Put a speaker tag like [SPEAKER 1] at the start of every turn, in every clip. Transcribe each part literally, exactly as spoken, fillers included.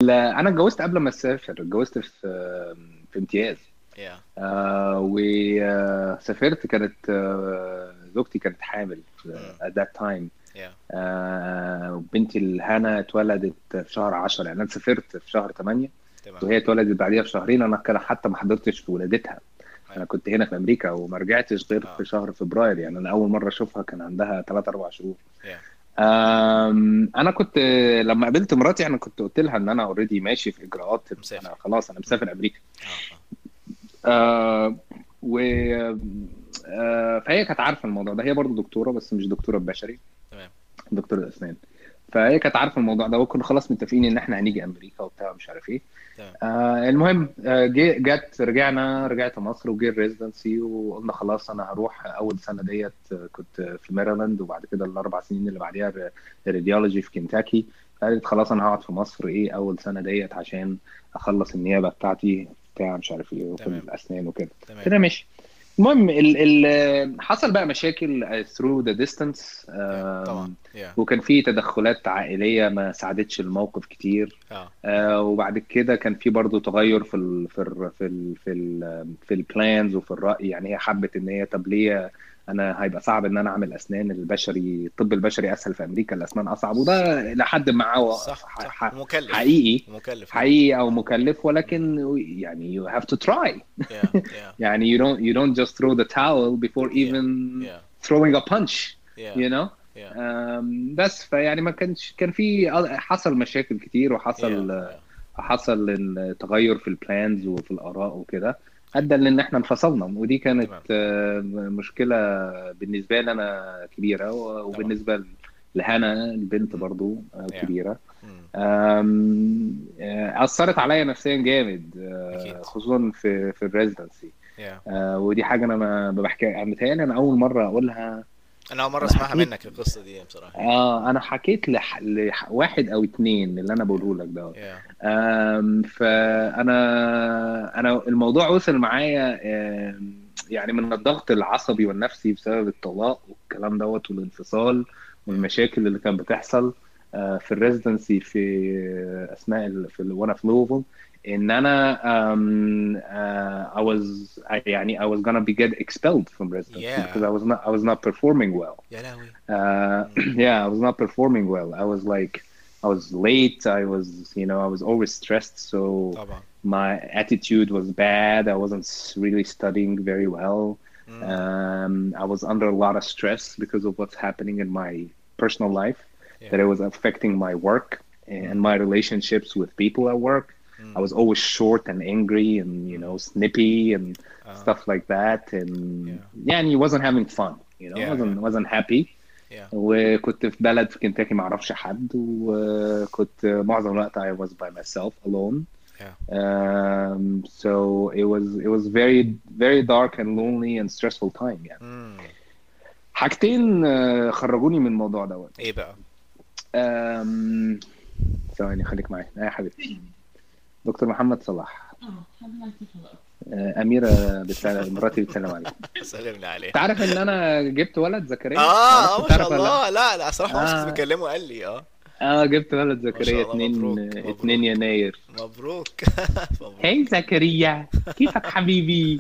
[SPEAKER 1] لا انا اتجوزت قبل ما اسافر، اتجوزت في في امتياز.
[SPEAKER 2] يا
[SPEAKER 1] آه وسافرت، كانت آه زوجتي كانت حامل في-
[SPEAKER 2] امم
[SPEAKER 1] at that time.
[SPEAKER 2] يا
[SPEAKER 1] آه وبنتي الهنا اتولدت في شهر عشرة، يعني انا سافرت في شهر ثمانية
[SPEAKER 2] تمام.
[SPEAKER 1] وهي اتولدت بعديها بشهرين. انا كان حتى ما حضرتش في ولادتها،
[SPEAKER 2] ايوه.
[SPEAKER 1] انا كنت هنا في امريكا وما رجعتش غير
[SPEAKER 2] اه.
[SPEAKER 1] في شهر فبراير. يعني انا اول مره اشوفها كان عندها ثلاثة اربعة شهور.
[SPEAKER 2] يا
[SPEAKER 1] أم، انا كنت لما قابلت مراتي انا كنت قلت لها ان انا اوريدي ماشي في اجراءات، انا
[SPEAKER 2] مسافر.
[SPEAKER 1] خلاص انا
[SPEAKER 2] امم
[SPEAKER 1] مسافر امريكا.
[SPEAKER 2] اه اه.
[SPEAKER 1] أه و أه فهي كانت عارفه الموضوع ده، هي برضو دكتوره بس مش دكتوره بشري،
[SPEAKER 2] تمام.
[SPEAKER 1] دكتوره اسنان. فهي كانت عارفه الموضوع ده وكنا خلاص متفقين ان احنا هنيجي امريكا وبتاع مش عارف ايه.
[SPEAKER 2] تمام.
[SPEAKER 1] آه المهم، آه جي- جت رجعنا رجعت مصر وجي الريزدنسي وقلنا خلاص انا هروح اول سنه ديت. آه، كنت في ميرلاند، وبعد كده الاربع سنين اللي بعديها الراديولوجي في كنتاكي. قالت خلاص انا هقعد في مصر ايه اول سنه ديت عشان اخلص النيابه بتاعتي بتاع مش عارف ايه وفي
[SPEAKER 2] تمام.
[SPEAKER 1] الاسنان وكده.
[SPEAKER 2] تمام.
[SPEAKER 1] كده ماشي. المهم ال ال حصل بقى مشاكل through the distance.
[SPEAKER 2] يا طبعا.
[SPEAKER 1] آم،
[SPEAKER 2] يا
[SPEAKER 1] وكان في تدخلات عائلية ما ساعدتش الموقف كتير.
[SPEAKER 2] اه.
[SPEAKER 1] آه، وبعد كده كان في برضو تغير في ال في ال في ال في ال في البلانز وفي الرأي. يعني هي حبت ان هي طب ليه انا هيبقى صعب ان انا اعمل اسنان البشري، الطب البشري اسهل في امريكا، الاسنان اصعب. وده
[SPEAKER 2] صح
[SPEAKER 1] لحد ما هو
[SPEAKER 2] صح
[SPEAKER 1] ح-
[SPEAKER 2] صح.
[SPEAKER 1] ح-
[SPEAKER 2] ومكلف.
[SPEAKER 1] حقيقي،
[SPEAKER 2] ومكلف جدا.
[SPEAKER 1] حقيقي او
[SPEAKER 2] امم
[SPEAKER 1] مكلف،
[SPEAKER 2] امم
[SPEAKER 1] ولكن يعني you have to try.
[SPEAKER 2] يا يا
[SPEAKER 1] يعني you don't you don't just throw the towel before
[SPEAKER 2] يا
[SPEAKER 1] even
[SPEAKER 2] يا
[SPEAKER 1] throwing a punch,
[SPEAKER 2] يا
[SPEAKER 1] you know.
[SPEAKER 2] يا
[SPEAKER 1] أم، بس فيعني ما كانش كان في حصل مشاكل كتير،
[SPEAKER 2] يا
[SPEAKER 1] وحصل
[SPEAKER 2] يا
[SPEAKER 1] حصل التغير في البلانز وفي الآراء وكده،
[SPEAKER 2] ايوه.
[SPEAKER 1] ادى لان احنا انفصلنا. ودي كانت
[SPEAKER 2] تمام.
[SPEAKER 1] آه، مشكلة بالنسبة لي انا كبيرة،
[SPEAKER 2] طبعا.
[SPEAKER 1] وبالنسبة لهنا البنت
[SPEAKER 2] امم
[SPEAKER 1] برضو آه،
[SPEAKER 2] يا
[SPEAKER 1] كبيرة.
[SPEAKER 2] امم
[SPEAKER 1] أم، آه، أثرت عليا نفسيا جامد،
[SPEAKER 2] اكيد.
[SPEAKER 1] آه، خصوصا في في الريزدنسي.
[SPEAKER 2] يا
[SPEAKER 1] آه، ودي حاجة أنا ما ما بحكي، متهيألي أنا أول مرة أقولها.
[SPEAKER 2] انا اول مره
[SPEAKER 1] أنا
[SPEAKER 2] اسمعها
[SPEAKER 1] حكيت،
[SPEAKER 2] منك القصه دي بصراحه يعني.
[SPEAKER 1] آه أنا حكيت لح... لواحد أو اتنين اللي أنا
[SPEAKER 2] يا
[SPEAKER 1] بقوله لك ده.
[SPEAKER 2] يا
[SPEAKER 1] آم، فأنا أنا الموضوع وصل معايا، آم، يعني من الضغط العصبي والنفسي بسبب الطلاق والكلام دوت والانفصال
[SPEAKER 2] يا
[SPEAKER 1] والمشاكل اللي كانت بتحصل آه، في الريزدنسي في أثناء ال... في ال... وأنا في لوفل. ان انا um, uh, I was I, يعني I was gonna be get expelled from residency because
[SPEAKER 2] يا
[SPEAKER 1] I was not I was not performing well.
[SPEAKER 2] يا لهوي.
[SPEAKER 1] Uh,
[SPEAKER 2] امم
[SPEAKER 1] yeah, I was not performing well. I was like, I was late. I was, you know, I was always stressed. So
[SPEAKER 2] طبعا.
[SPEAKER 1] my attitude was bad. I wasn't really studying very well.
[SPEAKER 2] امم
[SPEAKER 1] Um, I was under a lot of stress because of what's happening in my personal life, that
[SPEAKER 2] يا
[SPEAKER 1] it was affecting my work and
[SPEAKER 2] امم
[SPEAKER 1] my relationships with people at work. I
[SPEAKER 2] امم
[SPEAKER 1] was always short and angry and, you know,
[SPEAKER 2] امم
[SPEAKER 1] snippy and
[SPEAKER 2] اه.
[SPEAKER 1] stuff like that. And
[SPEAKER 2] يا
[SPEAKER 1] yeah, and he wasn't having fun, you know,
[SPEAKER 2] يا
[SPEAKER 1] wasn't
[SPEAKER 2] يا
[SPEAKER 1] wasn't happy.
[SPEAKER 2] يا
[SPEAKER 1] وكنت في بلد في كنتاكي ما اعرفش حد، وكنت معظم الوقت I was by myself alone.
[SPEAKER 2] يا
[SPEAKER 1] Um, so it was it was very very dark and lonely and stressful time يعني.
[SPEAKER 2] امم
[SPEAKER 1] حاجتين آه، خرجوني من الموضوع دوت.
[SPEAKER 2] ايه بقى؟
[SPEAKER 1] أم، ثواني خليك معايا يا حبيبي. دكتور محمد صلاح، آه، أميرة بتسلم، مراتي بتسلم عليك.
[SPEAKER 2] سلمني عليه.
[SPEAKER 1] تعرف إن أنا جبت ولد زكريا؟
[SPEAKER 2] اه
[SPEAKER 1] معرفش
[SPEAKER 2] اه ما شاء
[SPEAKER 1] تعرف ولا لأ؟
[SPEAKER 2] الله. لا لا صراحه مامتي كنت
[SPEAKER 1] آه
[SPEAKER 2] بكلمه قال لي اه.
[SPEAKER 1] آه جبت ولد
[SPEAKER 2] ما
[SPEAKER 1] زكريا
[SPEAKER 2] شاء الله.
[SPEAKER 1] اتنين
[SPEAKER 2] مبروك
[SPEAKER 1] اتنين
[SPEAKER 2] مبروك
[SPEAKER 1] يناير.
[SPEAKER 2] مبروك.
[SPEAKER 1] هاي
[SPEAKER 2] مبروك.
[SPEAKER 1] زكريا، كيفك حبيبي؟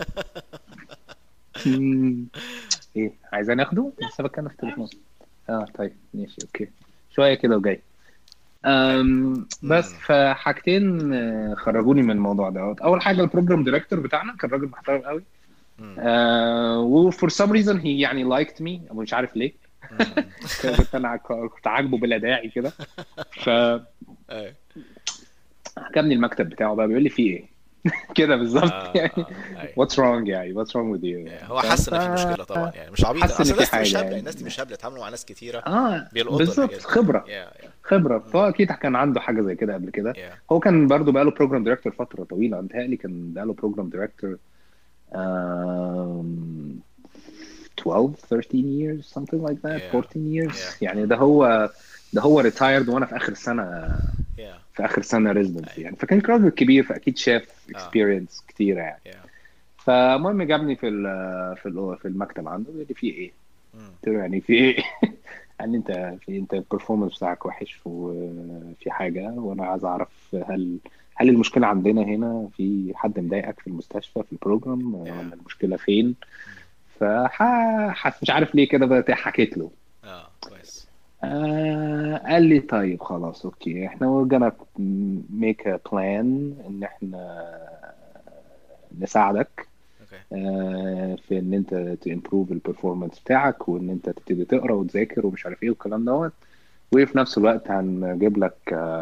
[SPEAKER 1] مم. ايه عايزة ناخده؟ لسه بتكلم في التليفون. اه طيب ماشي اوكي، شوية كده وجاي.
[SPEAKER 2] ايوه.
[SPEAKER 1] أم بس
[SPEAKER 2] امم
[SPEAKER 1] فحاجتين آه، خرجوني من الموضوع دوت. اول حاجة البروجرام ديريكتور بتاعنا كان راجل محترم قوي.
[SPEAKER 2] امم
[SPEAKER 1] آه وفور سم ريزون هي يعني لايكت مي، مش عارف ليه.
[SPEAKER 2] امم
[SPEAKER 1] كنت انا عك- كنت عاجبه بلا داعي كده. فعجبني
[SPEAKER 2] ايوه.
[SPEAKER 1] المكتب بتاعه بقى، بيقول لي فيه ايه كده بالظبط
[SPEAKER 2] اه
[SPEAKER 1] يعني.
[SPEAKER 2] اه ايوه.
[SPEAKER 1] what's wrong يعني what's wrong with you
[SPEAKER 2] يعني
[SPEAKER 1] يعني
[SPEAKER 2] هو
[SPEAKER 1] فاهم.
[SPEAKER 2] حس ان في مشكله طبعا، يعني مش عبيط،
[SPEAKER 1] فحس ان
[SPEAKER 2] اصل
[SPEAKER 1] في
[SPEAKER 2] الناس دي مش
[SPEAKER 1] حاجه
[SPEAKER 2] هبله، الناس دي
[SPEAKER 1] يعني.
[SPEAKER 2] مش هبله، اتعاملوا مع ناس كتيره
[SPEAKER 1] اه
[SPEAKER 2] بيلقطوا الحاجات
[SPEAKER 1] بالظبط،
[SPEAKER 2] دي.
[SPEAKER 1] خبره.
[SPEAKER 2] يا يا
[SPEAKER 1] خبره،
[SPEAKER 2] مم.
[SPEAKER 1] فهو اكيد كان عنده حاجه زي كده قبل كده.
[SPEAKER 2] يا
[SPEAKER 1] هو كان برضو بقاله بروجرام دايركتور فتره طويله، متهيألي كان بقاله بروجرام دايركتور um, twelve thirteen years something like that
[SPEAKER 2] يا
[SPEAKER 1] fourteen years.
[SPEAKER 2] يا
[SPEAKER 1] يعني
[SPEAKER 2] مم.
[SPEAKER 1] ده هو ده هو ريتايرد وانا في اخر سنه،
[SPEAKER 2] يا
[SPEAKER 1] في اخر سنه ريزيدنسي
[SPEAKER 2] ايوه.
[SPEAKER 1] يعني. فكان راجل كبير فاكيد شاف
[SPEAKER 2] اه.
[SPEAKER 1] اكسبيرينس كتيره يعني.
[SPEAKER 2] يا
[SPEAKER 1] فالمهم جابني في ال- في ال- في المكتب عنده، بيقول لي في ايه؟
[SPEAKER 2] مم.
[SPEAKER 1] قلت له يعني في ايه؟ يعني انت في انت البرفورمانس بتاعك وحش وفي حاجه، وانا عايز اعرف هل هل المشكله عندنا هنا، في حد مضايقك في المستشفى في البروجرام،
[SPEAKER 2] yeah.
[SPEAKER 1] ولا المشكله فين؟
[SPEAKER 2] مم.
[SPEAKER 1] فح ح- مش عارف ليه كده بقى حكيت له.
[SPEAKER 2] اه كويس.
[SPEAKER 1] آه قال لي طيب خلاص اوكي، احنا we're gonna make a plan ان احنا نساعدك
[SPEAKER 2] اوكي.
[SPEAKER 1] آه في ان انت تimprove البرفورمانس بتاعك، وان انت تبتدي تقرا وتذاكر ومش عارف ايه والكلام دوت. وفي نفس الوقت هنجيب لك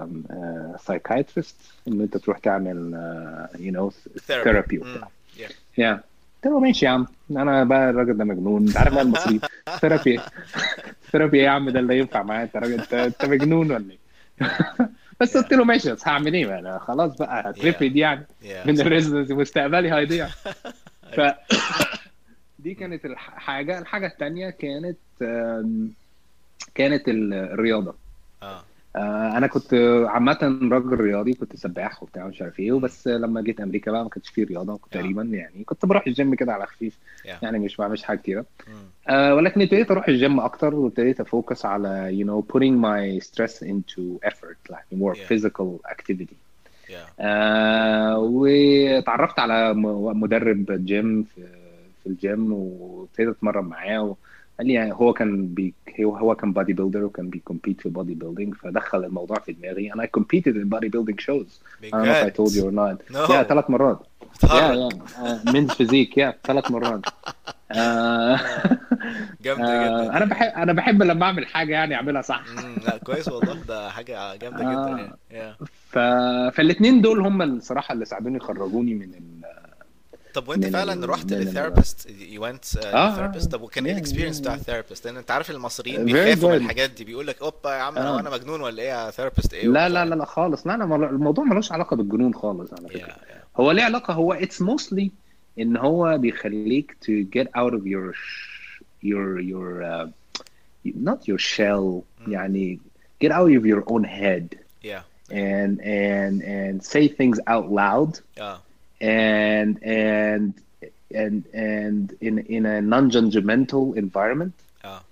[SPEAKER 1] سايكايترست ان انت تروح تعمل يو نو
[SPEAKER 2] therapy.
[SPEAKER 1] ثيرابي
[SPEAKER 2] امم
[SPEAKER 1] وبتاع.
[SPEAKER 2] yeah.
[SPEAKER 1] يا قلت له ماشي يا عم، انا بقى الراجل ده مجنون، انت عارف بقى المصريين ثيرابي. ثيرابي ايه يا عم، ده اللي ينفع معايا؟ انت راجل، انت انت مجنون ولا ايه؟
[SPEAKER 2] yeah.
[SPEAKER 1] بس
[SPEAKER 2] yeah.
[SPEAKER 1] قلت له ماشي، بس هعمل ايه بقى؟ انا خلاص بقى
[SPEAKER 2] yeah.
[SPEAKER 1] هترفد يعني
[SPEAKER 2] yeah
[SPEAKER 1] من
[SPEAKER 2] صح.
[SPEAKER 1] الريزدنس، مستقبلي هيضيع.
[SPEAKER 2] ايوه.
[SPEAKER 1] فدي
[SPEAKER 2] مم.
[SPEAKER 1] كانت الحاجه الحاجه التانيه كانت آم، كانت ال- الرياضه.
[SPEAKER 2] اه.
[SPEAKER 1] آه، انا كنت عامه راجل رياضي، كنت سباح وبتاع مش عارف ايه،
[SPEAKER 2] مم.
[SPEAKER 1] وبس لما جيت امريكا بقى ما كانش فيه رياضه كنت
[SPEAKER 2] اه.
[SPEAKER 1] تقريبا، يعني كنت بروح الجيم كده على خفيف،
[SPEAKER 2] yeah.
[SPEAKER 1] يعني مش بعملش حاجه كتيره.
[SPEAKER 2] مم.
[SPEAKER 1] آه، ولكن ابتديت اروح الجيم اكتر، وابتديت افوكس على you know putting my stress into effort like more
[SPEAKER 2] yeah.
[SPEAKER 1] physical activity.
[SPEAKER 2] yeah.
[SPEAKER 1] آه، واتعرفت على م- مدرب جيم في في الجيم، وابتديت اتمرن معاه. قال لي يعني هو كان بي هو هو كان بادي بيلدر، وكان بيكمبيت في بادي بيلدينج، فدخل الموضوع في دماغي. انا I competed in bodybuilding shows. I don't know if I
[SPEAKER 2] بجد؟
[SPEAKER 1] told you or not. يا
[SPEAKER 2] no.
[SPEAKER 1] ثلاث مرات. يا
[SPEAKER 2] بتهرج.
[SPEAKER 1] يا من فيزيك، يا ثلاث مرات. آه
[SPEAKER 2] اه جامدة جدا
[SPEAKER 1] آه انا
[SPEAKER 2] دي
[SPEAKER 1] بحب
[SPEAKER 2] اه.
[SPEAKER 1] انا بحب لما اعمل حاجه يعني اعملها صح.
[SPEAKER 2] امم لا كويس والله، ده حاجة جامدة جدا يعني.
[SPEAKER 1] آه
[SPEAKER 2] yeah.
[SPEAKER 1] ف... فالاثنين دول هم الصراحه اللي ساعدوني يخرجوني من ال...
[SPEAKER 2] طب وانت
[SPEAKER 1] من
[SPEAKER 2] فعلا
[SPEAKER 1] ال...
[SPEAKER 2] رحت
[SPEAKER 1] من ال...
[SPEAKER 2] للثيرابيست؟ you went uh,
[SPEAKER 1] اه
[SPEAKER 2] للثيرابيست؟
[SPEAKER 1] اه
[SPEAKER 2] طب وكان ايه
[SPEAKER 1] yeah,
[SPEAKER 2] الاكسبيرينس بتاع
[SPEAKER 1] yeah,
[SPEAKER 2] الثيرابيست؟ لان انت عارف المصريين
[SPEAKER 1] yeah. very
[SPEAKER 2] بيخافوا من
[SPEAKER 1] good.
[SPEAKER 2] الحاجات دي، بيقول لك اوبا يا عم هو
[SPEAKER 1] اه
[SPEAKER 2] انا مجنون ولا ايه يا ثيرابيست ايه
[SPEAKER 1] لا
[SPEAKER 2] وبتاع
[SPEAKER 1] لا
[SPEAKER 2] يعني.
[SPEAKER 1] لا لا خالص، لا انا مل- الموضوع ملوش علاقه بالجنون خالص على فكره.
[SPEAKER 2] yeah yeah.
[SPEAKER 1] هو ليه علاقه، هو it's mostly ان هو بيخليك to get out of your sh- your your uh, not your shell،
[SPEAKER 2] mm.
[SPEAKER 1] يعني get out of your own head
[SPEAKER 2] yeah yeah.
[SPEAKER 1] and and and say things out loud
[SPEAKER 2] اه
[SPEAKER 1] and and and and in in a non-judgmental environment.
[SPEAKER 2] اه.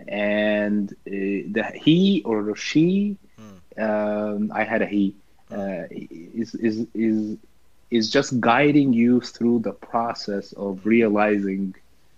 [SPEAKER 1] And uh, the he or she,
[SPEAKER 2] mm.
[SPEAKER 1] um, I had a he,
[SPEAKER 2] mm.
[SPEAKER 1] uh, is is is is just guiding you through the process of
[SPEAKER 2] mm.
[SPEAKER 1] realizing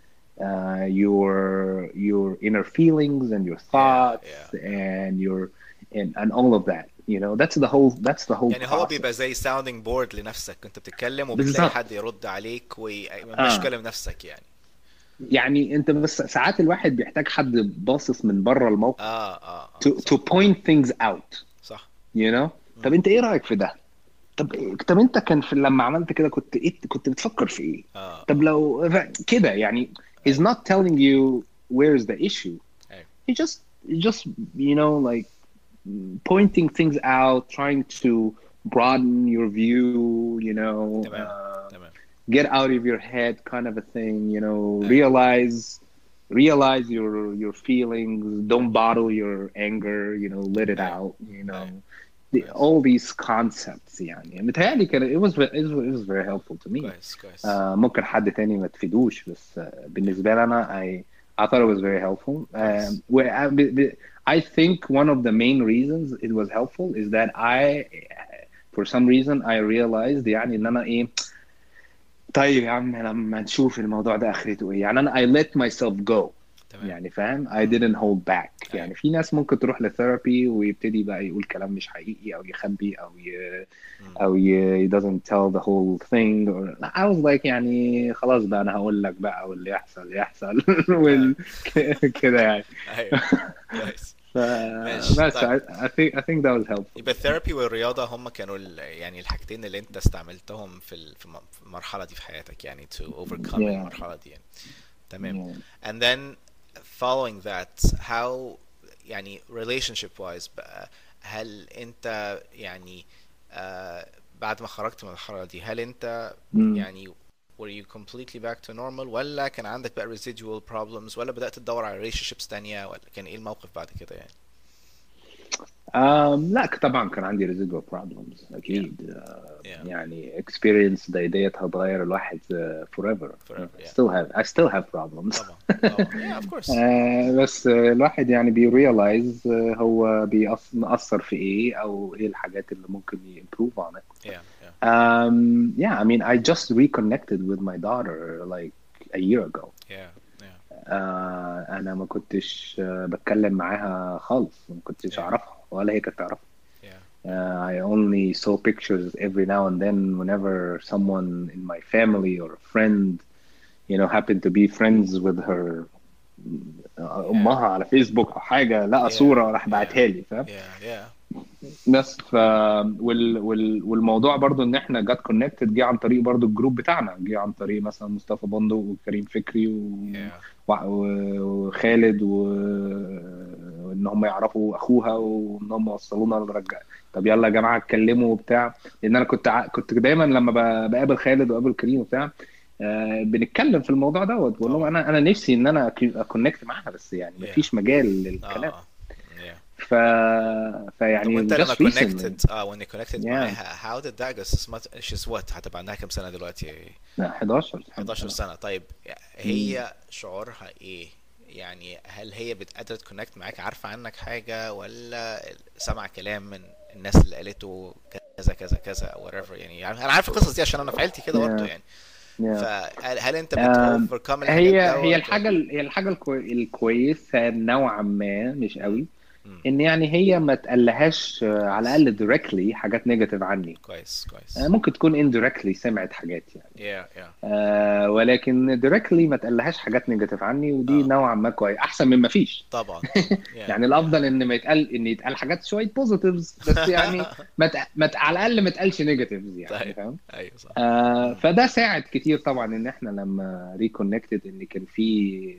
[SPEAKER 1] uh, your your inner feelings and your
[SPEAKER 2] yeah
[SPEAKER 1] thoughts
[SPEAKER 2] yeah yeah.
[SPEAKER 1] and your and, and all of that. You know, that's the whole that's the whole
[SPEAKER 2] يعني هو بيبقى
[SPEAKER 1] process.
[SPEAKER 2] زي sounding board لنفسك، كنت بتتكلم وبتلاقي حد
[SPEAKER 1] بالظبط.
[SPEAKER 2] يرد عليك ومش
[SPEAKER 1] اه
[SPEAKER 2] كلام نفسك يعني.
[SPEAKER 1] يعني انت بس ساعات الواحد بيحتاج حد باصص من بره الموقف
[SPEAKER 2] اه اه
[SPEAKER 1] to
[SPEAKER 2] اه
[SPEAKER 1] to
[SPEAKER 2] صح
[SPEAKER 1] point things out.
[SPEAKER 2] صح.
[SPEAKER 1] you know. طب
[SPEAKER 2] مم.
[SPEAKER 1] انت ايه رايك في ده؟ طب طب انت كان في لما عملت كده كنت ايه، كنت بتفكر في ايه؟
[SPEAKER 2] اه
[SPEAKER 1] طب
[SPEAKER 2] اه.
[SPEAKER 1] لو كده يعني he's
[SPEAKER 2] ايوه
[SPEAKER 1] not telling you where's the issue.
[SPEAKER 2] ايوه.
[SPEAKER 1] he just he just you know like pointing things out, trying to broaden your view, you know,
[SPEAKER 2] تمام
[SPEAKER 1] uh,
[SPEAKER 2] تمام.
[SPEAKER 1] get out of your head kind of a thing, you know,
[SPEAKER 2] ايوه
[SPEAKER 1] realize realize your your feelings, don't bottle your anger, you know, let it
[SPEAKER 2] ايوه
[SPEAKER 1] out, you
[SPEAKER 2] ايوه.
[SPEAKER 1] know. The,
[SPEAKER 2] كويس
[SPEAKER 1] all these concepts يعني متهيألي كان it was it was, it was very helpful to me.
[SPEAKER 2] كويس كويس
[SPEAKER 1] uh, ممكن حد تاني ما تفيدوش، بس uh, بالنسبة لي أنا I I thought it was very helpful. Um,
[SPEAKER 2] كويس.
[SPEAKER 1] where I, I think one of the main reasons it was helpful is that I for some reason I realized يعني ان انا ايه، طيب يا عم لما نشوف الموضوع ده اخرته ايه، يعني انا I let myself go.
[SPEAKER 2] تمام.
[SPEAKER 1] يعني فاهم I
[SPEAKER 2] مم.
[SPEAKER 1] didn't hold back.
[SPEAKER 2] ايوه
[SPEAKER 1] يعني في ناس ممكن تروح لثيرابي ويبتدي بقى يقول كلام مش حقيقي او يخبي او ي...
[SPEAKER 2] مم.
[SPEAKER 1] او ي... he doesn't tell the whole thing or... I was like يعني خلاص بقى انا هقول لك بقى واللي يحصل يحصل
[SPEAKER 2] ايوه
[SPEAKER 1] وال... كده يعني.
[SPEAKER 2] ايوه. كويس. ماشي
[SPEAKER 1] فبس
[SPEAKER 2] طيب.
[SPEAKER 1] I, I think I think that was helpful.
[SPEAKER 2] يبقى الثيرابي والرياضة هم كانوا ال- يعني الحاجتين اللي انت استعملتهم في ال- في الم- في المرحلة دي في حياتك يعني to overcome
[SPEAKER 1] Yeah,
[SPEAKER 2] المرحلة دي يعني. تمام.
[SPEAKER 1] yeah.
[SPEAKER 2] And then following that how يعني relationship wise بقى، هل انت يعني آه بعد ما خرجت من المرحلة دي هل انت
[SPEAKER 1] Mm.
[SPEAKER 2] يعني were you completely back to normal، ولا كان عندك بقى residual problems، ولا بدأت تدور على relationships تانية، ولا كان ايه الموقف بعد كده يعني؟
[SPEAKER 1] um, لا طبعا كان عندي residual problems
[SPEAKER 2] yeah
[SPEAKER 1] اكيد. آه،
[SPEAKER 2] yeah
[SPEAKER 1] يعني experience دي ديت هتغير الواحد آه، forever.
[SPEAKER 2] forever
[SPEAKER 1] I
[SPEAKER 2] yeah
[SPEAKER 1] still have I still have problems.
[SPEAKER 2] طبعا طبعا yeah of course
[SPEAKER 1] آه، بس آه، الواحد يعني بيريلايز هو بيأث- مأثر في ايه او ايه الحاجات اللي ممكن يimprove on it.
[SPEAKER 2] yeah yeah
[SPEAKER 1] Um, yeah, I mean, I just reconnected with my daughter like a year ago.
[SPEAKER 2] yeah yeah
[SPEAKER 1] آه، انا ما كنتش آه، بتكلم معاها خالص، ما كنتش
[SPEAKER 2] yeah
[SPEAKER 1] اعرفها ولا هي كانت تعرفها.
[SPEAKER 2] yeah yeah
[SPEAKER 1] Uh, I only saw pictures every now and then whenever someone in my family or a friend, you know, happened to be friends with her آه،
[SPEAKER 2] yeah
[SPEAKER 1] امها على فيسبوك او حاجه، لقى
[SPEAKER 2] yeah
[SPEAKER 1] صوره راح
[SPEAKER 2] yeah
[SPEAKER 1] بعتها لي، فاهم؟
[SPEAKER 2] yeah yeah
[SPEAKER 1] بس ف وال... وال... والموضوع برضو ان احنا جات كونكتد جه عن طريق برضو الجروب بتاعنا، جه عن طريق مثلا مصطفى بندق وكريم فكري و...
[SPEAKER 2] yeah
[SPEAKER 1] و... وخالد و... وان هم يعرفوا اخوها وان هم وصلونا لرجع. طب يلا يا جماعه اتكلموا وبتاع، لان انا كنت ع... كنت دايما لما ب... بقابل خالد وقابل كريم وبتاع آه، بنتكلم في الموضوع دوت، بقول لهم
[SPEAKER 2] طبعا
[SPEAKER 1] انا انا نفسي ان انا اكونكت معاها، بس يعني
[SPEAKER 2] yeah
[SPEAKER 1] مفيش مجال للكلام.
[SPEAKER 2] اه yeah
[SPEAKER 1] ف
[SPEAKER 2] طب
[SPEAKER 1] فيعني
[SPEAKER 2] وانت لما
[SPEAKER 1] just recently.
[SPEAKER 2] connected اه when you connected
[SPEAKER 1] yeah
[SPEAKER 2] معاها how did that go she's much- she's what هتبقى عندها كام سنة دلوقتي؟
[SPEAKER 1] لا حداشر الحمد
[SPEAKER 2] حداشر
[SPEAKER 1] لله.
[SPEAKER 2] سنة طيب
[SPEAKER 1] مم.
[SPEAKER 2] هي شعورها ايه يعني هل هي بتقدر تكونكت معاك عارفة عنك حاجة ولا سمع كلام من الناس اللي قالته كذا كذا كذا او whatever يعني يعني انا عارف القصص دي عشان انا في عيلتي كده برضه
[SPEAKER 1] yeah
[SPEAKER 2] يعني
[SPEAKER 1] yeah
[SPEAKER 2] فهل هل انت بت
[SPEAKER 1] um,
[SPEAKER 2] overcome الحاجات
[SPEAKER 1] هي هي
[SPEAKER 2] دوت ولا
[SPEAKER 1] الحاجة هي الحاجة الكوي... الكويسة نوعا ما، مش
[SPEAKER 2] مم.
[SPEAKER 1] قوي،
[SPEAKER 2] مم.
[SPEAKER 1] ان يعني هي ما تقلهاش آه، على
[SPEAKER 2] كويس
[SPEAKER 1] الاقل directly حاجات نيجاتيف عني.
[SPEAKER 2] كويس
[SPEAKER 1] آه،
[SPEAKER 2] كويس
[SPEAKER 1] ممكن تكون indirectly سمعت حاجات يعني،
[SPEAKER 2] yeah yeah
[SPEAKER 1] آه، ولكن directly ما تقلهاش حاجات نيجاتيف عني، ودي
[SPEAKER 2] اه
[SPEAKER 1] نوعا ما كويس احسن من ما فيش.
[SPEAKER 2] طبعا yeah
[SPEAKER 1] يعني
[SPEAKER 2] yeah
[SPEAKER 1] الافضل ان ما يتقال ان يتقال حاجات شويه بوزيتيفز بس، يعني ما ت... ما ت... على الاقل ما تقالش نيجاتيفز يعني،
[SPEAKER 2] طيب
[SPEAKER 1] فاهم؟
[SPEAKER 2] ايوه صح
[SPEAKER 1] آه
[SPEAKER 2] مم.
[SPEAKER 1] فده ساعد كتير طبعا ان احنا لما ريكونكتد ان كان في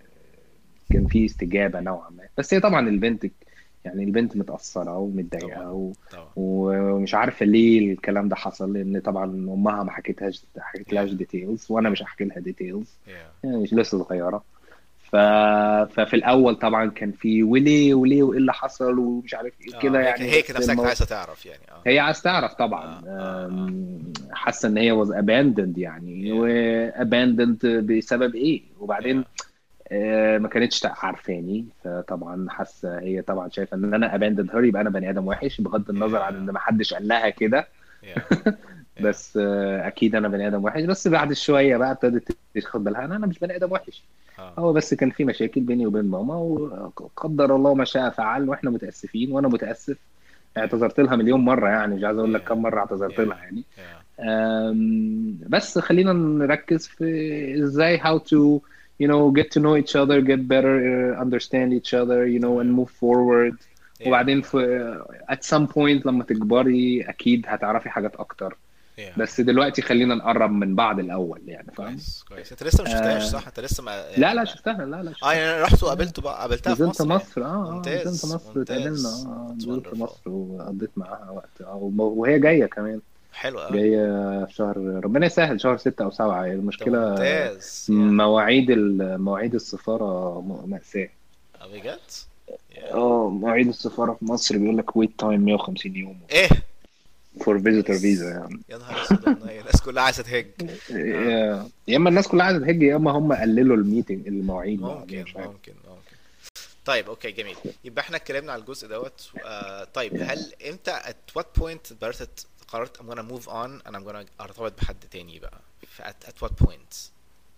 [SPEAKER 1] كان في استجابه نوعا ما. بس هي طبعا البنت، يعني البنت متاثره
[SPEAKER 2] طبعا
[SPEAKER 1] ومتضايقه و...
[SPEAKER 2] طبعا
[SPEAKER 1] ومش عارفه ليه الكلام ده حصل، لان طبعا امها ما حكيتهاش حكيتلهاش
[SPEAKER 2] yeah
[SPEAKER 1] ديتيلز، وانا
[SPEAKER 2] yeah
[SPEAKER 1] مش هحكي لها ديتيلز،
[SPEAKER 2] yeah
[SPEAKER 1] يعني مش لسه صغيره. ف...
[SPEAKER 2] yeah
[SPEAKER 1] ففي الاول طبعا كان في وليه وليه وايه اللي حصل ومش عارف ايه
[SPEAKER 2] اه
[SPEAKER 1] كده
[SPEAKER 2] هيك
[SPEAKER 1] يعني،
[SPEAKER 2] هيك
[SPEAKER 1] بس
[SPEAKER 2] نفسك
[SPEAKER 1] المو...
[SPEAKER 2] عايزة تعرف يعني اه
[SPEAKER 1] هي عايز تعرف طبعا.
[SPEAKER 2] اه اه اه
[SPEAKER 1] أم، حاسه ان هي was abandoned يعني، و
[SPEAKER 2] yeah
[SPEAKER 1] abandoned بسبب ايه، وبعدين
[SPEAKER 2] yeah
[SPEAKER 1] آه، ما كانتش عارفاني، فطبعا حاسه هي طبعا شايفه ان انا abandoned her، يبقى انا بني ادم وحش، بغض النظر عن ان
[SPEAKER 2] yeah
[SPEAKER 1] ما حدش قال لها كده.
[SPEAKER 2] yeah yeah
[SPEAKER 1] بس آه، اكيد انا بني ادم وحش، بس بعد شويه بقى ابتدت تاخد بالها ان انا مش بني ادم وحش.
[SPEAKER 2] اه
[SPEAKER 1] هو بس كان في مشاكل بيني وبين ماما، وقدر الله ما شاء فعل، واحنا متاسفين وانا متاسف.
[SPEAKER 2] yeah
[SPEAKER 1] اعتذرت لها مليون مره، يعني مش عايز اقول لك
[SPEAKER 2] yeah
[SPEAKER 1] كم مره اعتذرت
[SPEAKER 2] yeah
[SPEAKER 1] لها يعني.
[SPEAKER 2] yeah
[SPEAKER 1] أم، بس خلينا نركز في ازاي how to you know get to know each other, get better, uh, understand each other, you know, and
[SPEAKER 2] تمام
[SPEAKER 1] move forward.
[SPEAKER 2] yeah
[SPEAKER 1] وبعدين
[SPEAKER 2] yeah
[SPEAKER 1] في at some point لما تكبري اكيد هتعرفي حاجات اكتر،
[SPEAKER 2] yeah
[SPEAKER 1] بس
[SPEAKER 2] yeah
[SPEAKER 1] دلوقتي خلينا نقرب من بعض الاول يعني، فاهم؟
[SPEAKER 2] كويس كويس انت لسه ما شفتهاش
[SPEAKER 1] آه
[SPEAKER 2] صح انت لسه ما
[SPEAKER 1] لا
[SPEAKER 2] يعني
[SPEAKER 1] لا
[SPEAKER 2] ما
[SPEAKER 1] شفتها، لا لا
[SPEAKER 2] اه
[SPEAKER 1] شفتها.
[SPEAKER 2] يعني انا رحت
[SPEAKER 1] آه.
[SPEAKER 2] وقابلته بقى قابلتها في
[SPEAKER 1] نزلت
[SPEAKER 2] مصر يعني
[SPEAKER 1] مصر، اه اه نزلت
[SPEAKER 2] ممتاز
[SPEAKER 1] مصر اتقابلنا،
[SPEAKER 2] ممتاز
[SPEAKER 1] اه
[SPEAKER 2] that's
[SPEAKER 1] نزلت
[SPEAKER 2] wonderful
[SPEAKER 1] مصر وقضيت معاها وقت، اه وهي جاية كمان،
[SPEAKER 2] حلو قوي
[SPEAKER 1] جاية في شهر ربنا يسهل، شهر ستة أو سبعة. هي
[SPEAKER 2] ده
[SPEAKER 1] المشكلة
[SPEAKER 2] ممتاز يا
[SPEAKER 1] مواعيد ال- مواعيد السفارة م- مأساة.
[SPEAKER 2] اه بجد يا
[SPEAKER 1] اه مواعيد السفارة في مصر بيقول لك ويت تايم مية وخمسين يوم
[SPEAKER 2] ايه
[SPEAKER 1] فور
[SPEAKER 2] يا نهار
[SPEAKER 1] فيزيتور فيزا
[SPEAKER 2] اس
[SPEAKER 1] يعني.
[SPEAKER 2] يا نهار اسود والله الناس كلها عايزه تهج اه
[SPEAKER 1] يا يا اما الناس كلها عايزة تهج، يا اما هم قللوا الميتنج المواعيد بعدين،
[SPEAKER 2] ممكن
[SPEAKER 1] مش عارف.
[SPEAKER 2] ممكن ممكن طيب اوكي جميل يبقى احنا اتكلمنا على الجزء دوت آه طيب هل انت at what point قررت قررت I'm gonna move on and I'm gonna ارتبط بحد تاني بقى ف at, at what point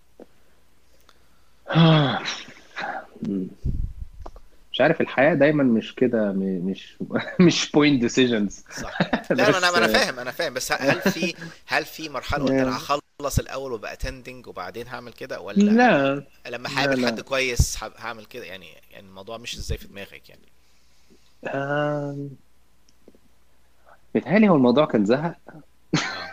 [SPEAKER 1] مش عارف، الحياة دايما مش كده، م- مش مش point decisions.
[SPEAKER 2] صح لا ما انا
[SPEAKER 1] بس
[SPEAKER 2] ما انا فاهم انا فاهم بس هل في هل في مرحله قلت انا هخلص الاول وبقى تندنج وبعدين هعمل كده ولا انا
[SPEAKER 1] لا
[SPEAKER 2] لما
[SPEAKER 1] لا
[SPEAKER 2] هقابل حد
[SPEAKER 1] لا
[SPEAKER 2] كويس ه- هعمل كده يعني يعني الموضوع مش ازاي في دماغك يعني
[SPEAKER 1] آم، بيتهيألي هو الموضوع كان زهق.
[SPEAKER 2] اه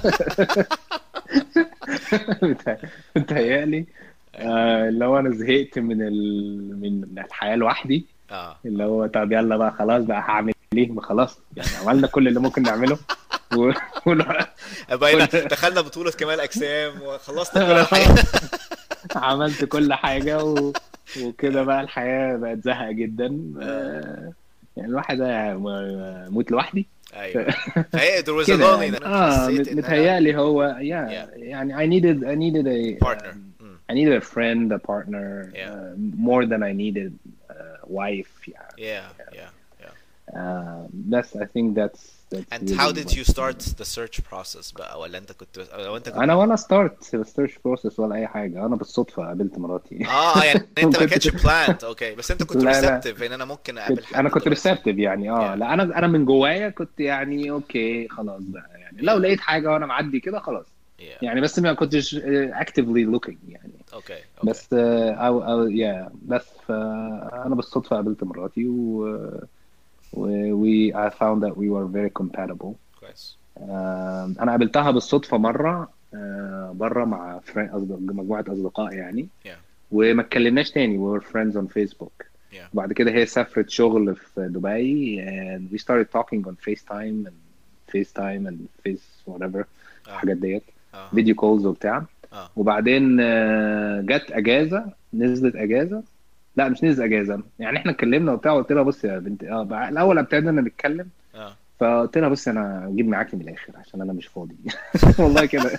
[SPEAKER 1] بيتهيأ-
[SPEAKER 2] ايوه
[SPEAKER 1] بيتهيألي
[SPEAKER 2] ايوه
[SPEAKER 1] آه، اللي هو انا زهقت من ال... من الحياة لوحدي،
[SPEAKER 2] اه
[SPEAKER 1] اللي
[SPEAKER 2] اه
[SPEAKER 1] هو طب يلا بقى خلاص بقى هعمل ايه، ما خلاص يعني عملنا كل اللي ممكن نعمله و...
[SPEAKER 2] بقينا
[SPEAKER 1] وال...
[SPEAKER 2] دخلنا بطولة كمال أجسام وخلصنا كل الحاجات
[SPEAKER 1] عملت كل حاجة و... وكده
[SPEAKER 2] اه
[SPEAKER 1] بقى الحياة بقت زهقة جدا.
[SPEAKER 2] اه
[SPEAKER 1] آه، يعني الواحد ده م- موت لوحدي.
[SPEAKER 2] ايوه ايوه. فهي there was a
[SPEAKER 1] كده يعني
[SPEAKER 2] loneliness، انا
[SPEAKER 1] اه
[SPEAKER 2] حسيت
[SPEAKER 1] مت-
[SPEAKER 2] ان انا
[SPEAKER 1] متهيألي هو
[SPEAKER 2] yeah
[SPEAKER 1] yeah يعني I needed I needed a
[SPEAKER 2] partner.
[SPEAKER 1] um,
[SPEAKER 2] mm.
[SPEAKER 1] I needed a friend, a partner,
[SPEAKER 2] yeah
[SPEAKER 1] uh, more than I needed a wife يعني.
[SPEAKER 2] yeah yeah yeah.
[SPEAKER 1] Uh, that's I think that's that's
[SPEAKER 2] And how
[SPEAKER 1] really
[SPEAKER 2] did
[SPEAKER 1] what.
[SPEAKER 2] you start the search process بقى؟ ولا انت كنت او انت كنت
[SPEAKER 1] انا ولا ستارت سيرش بروسس ولا اي حاجه، انا بالصدفه قابلت مراتي.
[SPEAKER 2] اه يعني
[SPEAKER 1] ما
[SPEAKER 2] انت ما كانتش
[SPEAKER 1] كنتش
[SPEAKER 2] planned. اوكي، بس انت كنت
[SPEAKER 1] لا لا
[SPEAKER 2] receptive ان انا ممكن اقابل
[SPEAKER 1] كنت انا
[SPEAKER 2] حد
[SPEAKER 1] كنت
[SPEAKER 2] دلوقتي.
[SPEAKER 1] ريسبتيف يعني اه
[SPEAKER 2] yeah
[SPEAKER 1] لا انا انا من جوايا كنت يعني اوكي خلاص بقى يعني لو
[SPEAKER 2] yeah
[SPEAKER 1] لقيت حاجه وانا معدي كده خلاص
[SPEAKER 2] yeah.
[SPEAKER 1] يعني، بس ما كنتش اكتفلي لوكينج يعني.
[SPEAKER 2] اوكي اوكي
[SPEAKER 1] بس آه، او او يا بس فانا بالصدفه قابلت مراتي و و we I found that we were very compatible.
[SPEAKER 2] كويس.
[SPEAKER 1] آه، انا قابلتها بالصدفه مره آه، بره مع فري- أصدق- مجموعه اصدقاء يعني،
[SPEAKER 2] yeah
[SPEAKER 1] وما اتكلمناش تاني. we were friends on Facebook.
[SPEAKER 2] yeah
[SPEAKER 1] وبعد كده هي سافرت شغل في دبي and we started talking on FaceTime and FaceTime and Face whatever
[SPEAKER 2] اه
[SPEAKER 1] الحاجات ديت،
[SPEAKER 2] اه
[SPEAKER 1] فيديو كولز وبتاع.
[SPEAKER 2] اه
[SPEAKER 1] وبعدين آه، جت اجازه، نزلت اجازه، لا مش نزل اجازه يعني، احنا اتكلمنا وبتاع. قلت لها بصي يا بنت اه بقى- الاول ابتدينا نتكلم،
[SPEAKER 2] اه
[SPEAKER 1] فقلت لها بصي انا اجيب معاكي من الاخر عشان انا مش فاضي. والله كده.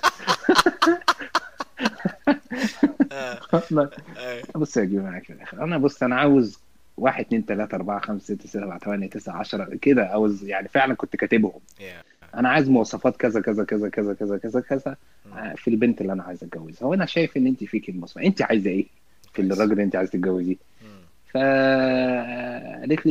[SPEAKER 2] اه اي
[SPEAKER 1] بص يا جماعة في الآخر، أنا بص أنا عاوز واحد اتنين تلاتة أربعة خمسة ستة سبعة تمانية تسعة عشرة كده، عاوز يعني فعلا كنت كاتبهم.
[SPEAKER 2] yeah
[SPEAKER 1] أنا عايز مواصفات كذا كذا كذا كذا كذا كذا كذا
[SPEAKER 2] mm.
[SPEAKER 1] آه، في البنت اللي أنا عايز أتجوزها، وأنا شايف إن أنت فيك المواصفات، أنت عايزة إيه في
[SPEAKER 2] كويس.
[SPEAKER 1] الراجل اللي أنت عايز تتجوزيه؟
[SPEAKER 2] mm.
[SPEAKER 1] فقالت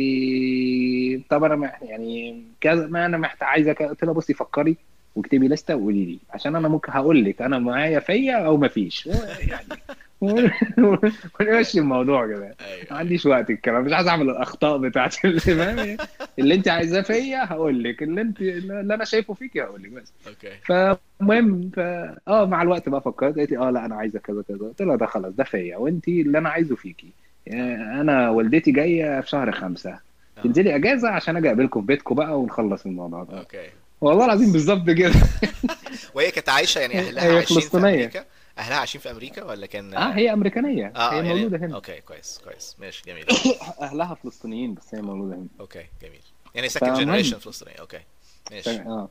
[SPEAKER 1] لي طب أنا مح- يعني كذا ما أنا محتاج عايزة كذا. قلت لها بصي فكري واكتبي لستة وقولي لي، عشان أنا ممكن هقول لك أنا معايا فيا أو ما فيش يعني. ونمشي الموضوع كده.
[SPEAKER 2] ايوه
[SPEAKER 1] ما
[SPEAKER 2] ايوه
[SPEAKER 1] عنديش وقت الكلام، مش عايز اعمل الاخطاء بتاعت اللي فاهم. اللي انت عايزاه فيا هقول لك، اللي انت اللي انا شايفه فيك هقول لك بس.
[SPEAKER 2] اوكي
[SPEAKER 1] فالمهم ف اه مع الوقت بقى فكرت، قالت لي اه لا انا عايزه كذا كذا. قلت لها ده خلاص ده فيا، وانت اللي انا عايزه فيكي.
[SPEAKER 2] اه
[SPEAKER 1] يعني انا والدتي جايه في شهر خمسة،
[SPEAKER 2] اه
[SPEAKER 1] تنزلي اجازه عشان اجي اقابلكم في بيتكم بقى ونخلص الموضوع ده.
[SPEAKER 2] اوكي
[SPEAKER 1] والله العظيم
[SPEAKER 2] كويس.
[SPEAKER 1] بالظبط كده.
[SPEAKER 2] وهي كانت عايشة يعني أهلها
[SPEAKER 1] هي
[SPEAKER 2] عايشين في
[SPEAKER 1] فلسطينيه.
[SPEAKER 2] أمريكا؟ أهلها عايشين في أمريكا ولا كان
[SPEAKER 1] اه
[SPEAKER 2] اه
[SPEAKER 1] هي امريكانيه،
[SPEAKER 2] آه،
[SPEAKER 1] هي
[SPEAKER 2] يعني
[SPEAKER 1] مولوده هنا.
[SPEAKER 2] اوكي كويس كويس ماشي جميل.
[SPEAKER 1] اهلها فلسطينيين بس هي مولوده هنا.
[SPEAKER 2] اوكي جميل، يعني second generation
[SPEAKER 1] فالمهم
[SPEAKER 2] فلسطينية. اوكي
[SPEAKER 1] ف...
[SPEAKER 2] ماشي
[SPEAKER 1] اه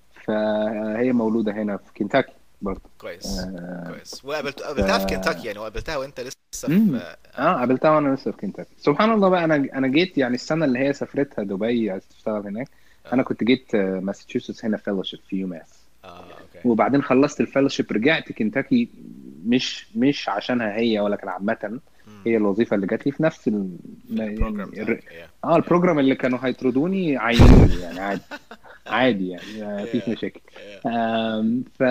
[SPEAKER 1] فهي مولودة هنا في كنتاكي برضه.
[SPEAKER 2] كويس
[SPEAKER 1] آه
[SPEAKER 2] كويس. وقابلت
[SPEAKER 1] ف
[SPEAKER 2] قابلتها في كنتاكي يعني، وقابلتها وانت لسه في
[SPEAKER 1] امم اه
[SPEAKER 2] اه
[SPEAKER 1] قابلتها وانا لسه في كنتاكي. سبحان الله بقى، انا انا جيت يعني السنة اللي هي سافرتها دبي عايز تشتغل هناك، انا
[SPEAKER 2] اه
[SPEAKER 1] كنت جيت آه، ماساتشوستس هنا فيلوشيب في يوماس.
[SPEAKER 2] اه اوكي
[SPEAKER 1] وبعدين خلصت الفيلوشيب رجعت كنتاكي، مش مش عشانها هي ولا كان عامة،
[SPEAKER 2] امم
[SPEAKER 1] هي الوظيفة اللي جات لي في نفس ال...
[SPEAKER 2] في البروجرام
[SPEAKER 1] يعني الر...
[SPEAKER 2] بتاعك. يا
[SPEAKER 1] اه
[SPEAKER 2] يا
[SPEAKER 1] البروجرام اللي كانوا هيطردوني عينوني يعني عادي. عادي يعني ما فيش
[SPEAKER 2] يا
[SPEAKER 1] مشاكل.
[SPEAKER 2] يا
[SPEAKER 1] آم، ف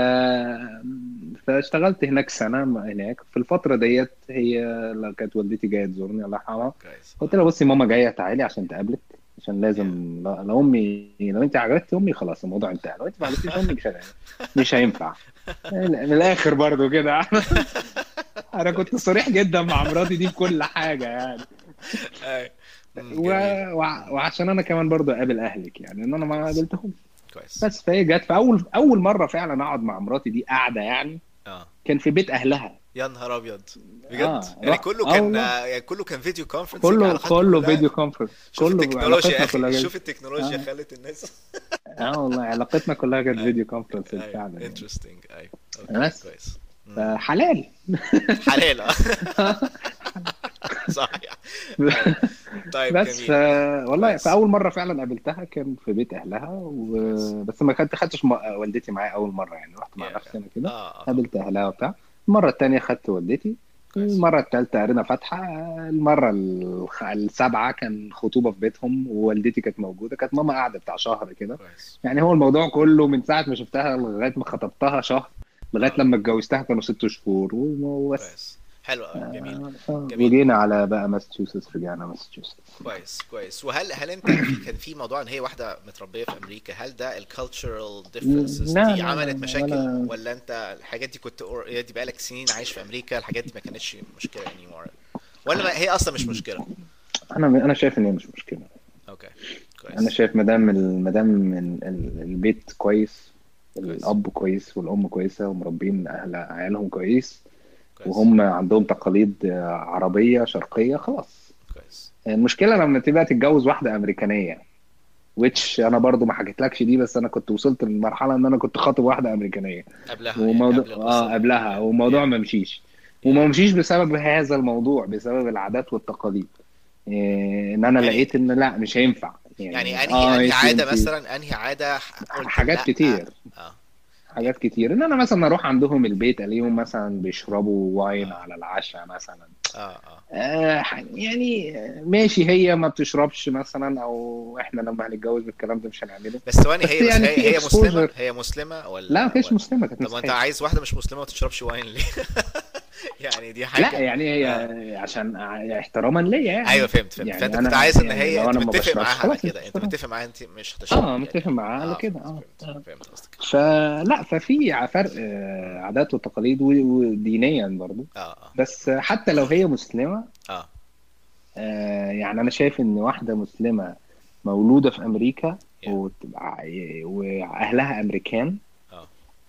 [SPEAKER 1] فاشتغلت هناك سنة هناك. في الفترة ديت هي لو كانت والدتي جاية تزورني الله يرحمها،
[SPEAKER 2] كويس
[SPEAKER 1] قلت
[SPEAKER 2] اه
[SPEAKER 1] لها بصي ماما جاية تعالي عشان تقابلك، عشان
[SPEAKER 2] يا
[SPEAKER 1] لازم لو لو امي لو انت عجبتي امي خلاص الموضوع انتهى، لو انت ما عجبتيش امي مش هي- مش هينفع. من الاخر برضو كده. انا كنت
[SPEAKER 2] كويس.
[SPEAKER 1] صريح جدا مع مراتي دي في كل حاجة يعني.
[SPEAKER 2] اي مم،
[SPEAKER 1] و...
[SPEAKER 2] جميل.
[SPEAKER 1] وع-
[SPEAKER 2] مم،
[SPEAKER 1] وعشان انا كمان برضو اقابل اهلك يعني، ان انا ما
[SPEAKER 2] كويس
[SPEAKER 1] قابلتهم.
[SPEAKER 2] كويس.
[SPEAKER 1] بس فهي جت في اول اول مره فعلا اقعد مع مراتي دي قاعده يعني،
[SPEAKER 2] اه
[SPEAKER 1] كان في بيت اهلها.
[SPEAKER 2] يا نهار ابيض بجد،
[SPEAKER 1] اه
[SPEAKER 2] يعني
[SPEAKER 1] رحت
[SPEAKER 2] كله
[SPEAKER 1] اه
[SPEAKER 2] كان
[SPEAKER 1] والله،
[SPEAKER 2] يعني كله كان فيديو كونفرنسنج،
[SPEAKER 1] كله
[SPEAKER 2] علاقاتكم
[SPEAKER 1] كله
[SPEAKER 2] كلها.
[SPEAKER 1] فيديو كونفرنس،
[SPEAKER 2] شوف
[SPEAKER 1] كله
[SPEAKER 2] التكنولوجيا يا
[SPEAKER 1] علاقتنا
[SPEAKER 2] اخي،
[SPEAKER 1] كلها كده.
[SPEAKER 2] شوف التكنولوجيا
[SPEAKER 1] اه
[SPEAKER 2] خلت الناس.
[SPEAKER 1] اه والله علاقتنا كلها كانت
[SPEAKER 2] اي
[SPEAKER 1] فيديو كونفرنس
[SPEAKER 2] اي
[SPEAKER 1] فعلا يعني.
[SPEAKER 2] انترستنج. اي اوكي
[SPEAKER 1] بس
[SPEAKER 2] كويس. امم
[SPEAKER 1] فحلال.
[SPEAKER 2] حلال اه. صحيح. اي طيب
[SPEAKER 1] بس ف...
[SPEAKER 2] جميل.
[SPEAKER 1] والله
[SPEAKER 2] كويس
[SPEAKER 1] فاول مره فعلا قابلتها كان في بيت اهلها
[SPEAKER 2] كويس.
[SPEAKER 1] و... بس ما كنت خدتش م... والدتي معايا اول مره يعني، رحت مع
[SPEAKER 2] يا
[SPEAKER 1] نفسي
[SPEAKER 2] يا
[SPEAKER 1] انا كده
[SPEAKER 2] اه اه طبعا.
[SPEAKER 1] قابلت اهلها وبتاع. المره التانيه خدت والدتي.
[SPEAKER 2] كويس
[SPEAKER 1] المره الثالثه قرينا فاتحه. المره الخ... السابعه كان خطوبه في بيتهم ووالدتي كانت موجوده، كانت ماما قاعده بتاع شهر كده.
[SPEAKER 2] كويس.
[SPEAKER 1] يعني هو الموضوع كله من ساعه ما شفتها لغايه ما خطبتها شهر، لغايه
[SPEAKER 2] اه
[SPEAKER 1] لما اتجوزتها كانوا ست شهور وبس.
[SPEAKER 2] كويس حلو قوي جميل
[SPEAKER 1] آه، آه،
[SPEAKER 2] جميل.
[SPEAKER 1] وجينا على بقى ماساتشوستس، رجعنا ماساتشوستس.
[SPEAKER 2] كويس كويس. وهل هل انت في كان في موضوع ان هي واحده متربيه في امريكا، هل ده الكالتشرال ديفرنسز
[SPEAKER 1] لا
[SPEAKER 2] دي
[SPEAKER 1] لا لا
[SPEAKER 2] عملت
[SPEAKER 1] لا
[SPEAKER 2] مشاكل،
[SPEAKER 1] ولا.
[SPEAKER 2] ولا انت الحاجات دي كنت اوريدي بقالك سنين عايش في امريكا، الحاجات دي ما كانتش مشكله anymore، ولا ما هي اصلا مش مشكله؟
[SPEAKER 1] انا انا شايف ان هي مش مشكله.
[SPEAKER 2] اوكي
[SPEAKER 1] انا
[SPEAKER 2] كويس
[SPEAKER 1] شايف ما دام ما دام ال- ال- البيت كويس،
[SPEAKER 2] كويس
[SPEAKER 1] الاب كويس والام كويسه ومربين اهل عيالهم كويس،
[SPEAKER 2] كويس
[SPEAKER 1] وهم عندهم تقاليد عربيه شرقيه، خلاص
[SPEAKER 2] كويس.
[SPEAKER 1] المشكله لما تبقى تتجوز واحده امريكانيه، which انا برضو ما حكيتلكش دي، بس انا كنت وصلت للمرحله ان انا كنت خاطب واحده امريكانيه،
[SPEAKER 2] قبلها يعني
[SPEAKER 1] وموضوع
[SPEAKER 2] قبل القصة
[SPEAKER 1] اه
[SPEAKER 2] دي.
[SPEAKER 1] قبلها،
[SPEAKER 2] yeah
[SPEAKER 1] والموضوع
[SPEAKER 2] yeah
[SPEAKER 1] ما مشيش. وما
[SPEAKER 2] yeah
[SPEAKER 1] مشيش بسبب هذا الموضوع، بسبب العادات والتقاليد. إيه، ان انا
[SPEAKER 2] يعني
[SPEAKER 1] لقيت ان لا مش هينفع
[SPEAKER 2] يعني
[SPEAKER 1] يعني.
[SPEAKER 2] انهي
[SPEAKER 1] اه
[SPEAKER 2] انهي
[SPEAKER 1] انت
[SPEAKER 2] عادة
[SPEAKER 1] انت
[SPEAKER 2] مثلا، انهي عادة ح- قلت
[SPEAKER 1] حاجات
[SPEAKER 2] لا؟
[SPEAKER 1] كتير،
[SPEAKER 2] اه.
[SPEAKER 1] حاجات كتير ان انا مثلا اروح عندهم البيت الاقيهم مثلا بيشربوا واين
[SPEAKER 2] اه
[SPEAKER 1] على العشاء مثلا.
[SPEAKER 2] اه اه
[SPEAKER 1] آه يعني ماشي، هي ما بتشربش مثلا، او احنا لما هنتجوز الكلام ده مش هنعمله.
[SPEAKER 2] بس ثواني،
[SPEAKER 1] بس
[SPEAKER 2] هي بس
[SPEAKER 1] يعني
[SPEAKER 2] هي
[SPEAKER 1] في
[SPEAKER 2] هي مسلمة،
[SPEAKER 1] اكسبوجر.
[SPEAKER 2] هي مسلمة
[SPEAKER 1] لا ما
[SPEAKER 2] ولا
[SPEAKER 1] كانتش
[SPEAKER 2] ولا
[SPEAKER 1] مسلمه، كانت
[SPEAKER 2] طب ما انت
[SPEAKER 1] مسيحيه.
[SPEAKER 2] عايز واحدة مش مسلمة ما تشربش واين ليه؟ يعني دي
[SPEAKER 1] لا
[SPEAKER 2] حاجة.
[SPEAKER 1] يعني
[SPEAKER 2] اه
[SPEAKER 1] هي عشان احتراما ليا
[SPEAKER 2] ايوه،
[SPEAKER 1] يعني.
[SPEAKER 2] فهمت فهمت
[SPEAKER 1] يعني
[SPEAKER 2] فانت كنت
[SPEAKER 1] انا
[SPEAKER 2] عايز ان
[SPEAKER 1] يعني
[SPEAKER 2] هي
[SPEAKER 1] لو
[SPEAKER 2] انت
[SPEAKER 1] انا ما
[SPEAKER 2] متفق
[SPEAKER 1] بشربش
[SPEAKER 2] معاها على
[SPEAKER 1] خلاص مش
[SPEAKER 2] كده، انت
[SPEAKER 1] بشرب.
[SPEAKER 2] متفق معاها انت مش
[SPEAKER 1] اه
[SPEAKER 2] هتشربي يعني.
[SPEAKER 1] متفق معاه على
[SPEAKER 2] اه
[SPEAKER 1] كده.
[SPEAKER 2] فهمت
[SPEAKER 1] اه
[SPEAKER 2] فهمت
[SPEAKER 1] آه.
[SPEAKER 2] فهمت قصدك.
[SPEAKER 1] فلا ففي ع- فرق آه،
[SPEAKER 2] مم.
[SPEAKER 1] عادات وتقاليد و- ودينيا برضو.
[SPEAKER 2] اه اه
[SPEAKER 1] بس حتى لو هي مسلمة،
[SPEAKER 2] اه
[SPEAKER 1] آه، يعني أنا شايف إن واحدة مسلمة مولودة في أمريكا
[SPEAKER 2] yeah
[SPEAKER 1] وتبقى وأهلها أمريكان،
[SPEAKER 2] اه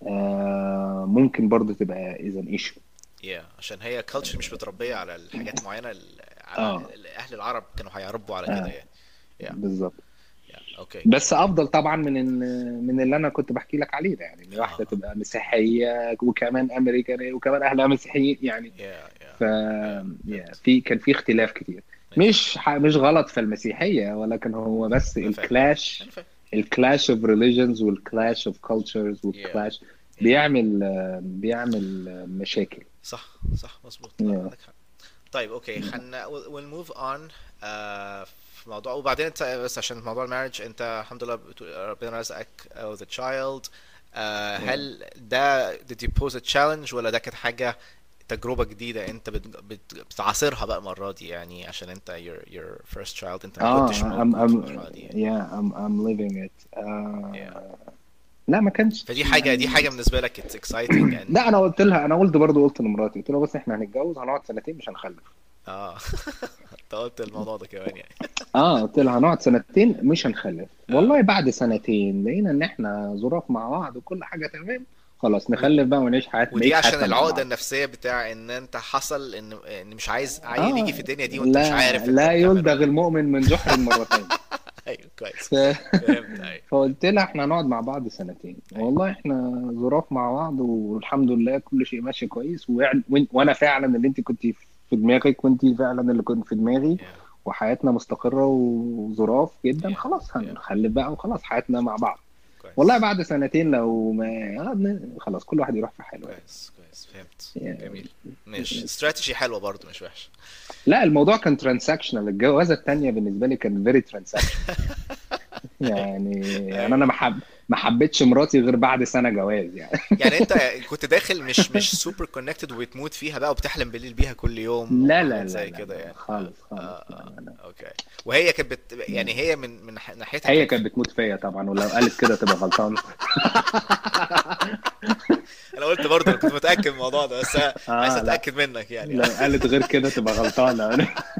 [SPEAKER 1] آه، ممكن برضو تبقى إذا إيشو.
[SPEAKER 2] yeah عشان هي كلتشر مش متربية على الحاجات معينة، ال- على
[SPEAKER 1] اه
[SPEAKER 2] ال- اهل العرب كانوا هيربوا على كده
[SPEAKER 1] اه
[SPEAKER 2] يعني. yeah
[SPEAKER 1] بالظبط.
[SPEAKER 2] yeah اوكي
[SPEAKER 1] بس
[SPEAKER 2] اوكي.
[SPEAKER 1] افضل طبعا من إن من اللي انا كنت بحكي لك عليه ده، يعني ان
[SPEAKER 2] اه
[SPEAKER 1] واحده
[SPEAKER 2] اه
[SPEAKER 1] تبقى مسيحيه وكمان امريكانيه وكمان اهلها مسيحيين يعني.
[SPEAKER 2] yeah yeah
[SPEAKER 1] ف
[SPEAKER 2] yeah
[SPEAKER 1] يا-
[SPEAKER 2] فهمت.
[SPEAKER 1] في كان في اختلاف كتير.
[SPEAKER 2] ماشي.
[SPEAKER 1] مش ح... مش غلط في المسيحيه، ولكن هو بس
[SPEAKER 2] انا فاهم انا
[SPEAKER 1] الكلاش،
[SPEAKER 2] فاهم.
[SPEAKER 1] الكلاش اوف ريليجنز والكلاش اوف كلتشرز
[SPEAKER 2] yeah
[SPEAKER 1] والكلاش
[SPEAKER 2] yeah
[SPEAKER 1] بيعمل بيعمل مشاكل.
[SPEAKER 2] صح صح مظبوط، لا
[SPEAKER 1] يا-
[SPEAKER 2] عندك حق. طيب اوكي، خلينا we'll move on. آه في موضوع، وبعدين انت بس عشان موضوع المارج، انت الحمد لله بتقول ربنا رزقك uh, with a child. آه
[SPEAKER 1] يا.
[SPEAKER 2] هل ده did you pose a challenge، ولا ده كانت حاجة تجربة جديدة انت بت بت بتعاصرها بقى المرة دي، يعني عشان انت your your first child انت ما كنتش
[SPEAKER 1] اه I'm
[SPEAKER 2] موجود في
[SPEAKER 1] I'm
[SPEAKER 2] المرحلة دي يعني.
[SPEAKER 1] yeah I'm I'm living it.
[SPEAKER 2] yeah
[SPEAKER 1] آه لا ما
[SPEAKER 2] فدي
[SPEAKER 1] كانش
[SPEAKER 2] حاجة دي
[SPEAKER 1] يعني.
[SPEAKER 2] حاجة بالنسبة لك it's exciting and
[SPEAKER 1] لا انا قلت لها، انا قلت برضو قلت لمراتي، قلت لها بص احنا هنتجوز هنقعد سنتين مش هنخلف.
[SPEAKER 2] اه. انت قلت الموضوع ده كمان يعني.
[SPEAKER 1] اه قلت لها هنقعد سنتين مش هنخلف،
[SPEAKER 2] اه.
[SPEAKER 1] والله بعد سنتين لقينا ان احنا ظروف مع بعض وكل حاجه تمام، خلاص
[SPEAKER 2] و-
[SPEAKER 1] نخلف بقى ونعيش حياتنا
[SPEAKER 2] ودي
[SPEAKER 1] بقية
[SPEAKER 2] عشان
[SPEAKER 1] حياتنا مع
[SPEAKER 2] العقدة
[SPEAKER 1] بعض.
[SPEAKER 2] النفسية بتاع ان انت حصل ان ان مش عايز عيل يجي
[SPEAKER 1] اه
[SPEAKER 2] في الدنيا دي وانت مش
[SPEAKER 1] لا
[SPEAKER 2] عارف انت
[SPEAKER 1] لا
[SPEAKER 2] بتعمله
[SPEAKER 1] يلدغ
[SPEAKER 2] ولا.
[SPEAKER 1] المؤمن من جحر مرتين.
[SPEAKER 2] ايوه كويس.
[SPEAKER 1] ف...
[SPEAKER 2] فهمت. ايوه
[SPEAKER 1] فقلت لها احنا هنقعد مع بعض سنتين،
[SPEAKER 2] ايوه
[SPEAKER 1] والله احنا ظروف مع بعض والحمد لله كل شيء ماشي كويس، ويعني- وإن- وانا فعلا اللي انت كنت في دماغك، وانت فعلا اللي كنت في دماغي،
[SPEAKER 2] yeah
[SPEAKER 1] وحياتنا مستقرة وظراف جدا،
[SPEAKER 2] yeah
[SPEAKER 1] خلاص
[SPEAKER 2] yeah
[SPEAKER 1] هنخلف بقى وخلاص حياتنا مع بعض. والله
[SPEAKER 2] كويس
[SPEAKER 1] بعد سنتين لو ما آه، خلاص كل واحد يروح في حاله يعني.
[SPEAKER 2] كويس كويس فهمت. جميل.
[SPEAKER 1] يعني-
[SPEAKER 2] ماشي، استراتيجي حلوة برضو مش وحش.
[SPEAKER 1] لا الموضوع كان ترانزاكشنال، الجوازة التانية بالنسبة لي كان فيري ترانزاكشنال.
[SPEAKER 2] ايوه
[SPEAKER 1] يعني يعني انا
[SPEAKER 2] ايوه.
[SPEAKER 1] ما حب ما حبيتش مراتي غير بعد سنة جواز يعني.
[SPEAKER 2] يعني انت كنت داخل مش مش سوبر كونكتد وبتموت فيها بقى وبتحلم بالليل بيها كل يوم
[SPEAKER 1] لا لا
[SPEAKER 2] وحاجات
[SPEAKER 1] لا
[SPEAKER 2] زي
[SPEAKER 1] لا
[SPEAKER 2] كده
[SPEAKER 1] لا
[SPEAKER 2] يعني. اه
[SPEAKER 1] خالص
[SPEAKER 2] اه
[SPEAKER 1] خالص لا
[SPEAKER 2] اه
[SPEAKER 1] لا لا.
[SPEAKER 2] اوكي. وهي كانت بت... يعني
[SPEAKER 1] لا.
[SPEAKER 2] هي من من ح- ناحيتها
[SPEAKER 1] هي
[SPEAKER 2] كانت.
[SPEAKER 1] كانت بتموت فيا طبعا، ولو قالت كده تبقى غلطانة.
[SPEAKER 2] انا قلت برضه، انا كنت متاكد من الموضوع ده، بس أنا عايز
[SPEAKER 1] اه لا
[SPEAKER 2] اتاكد منك يعني.
[SPEAKER 1] لو قالت غير كده تبقى غلطانة.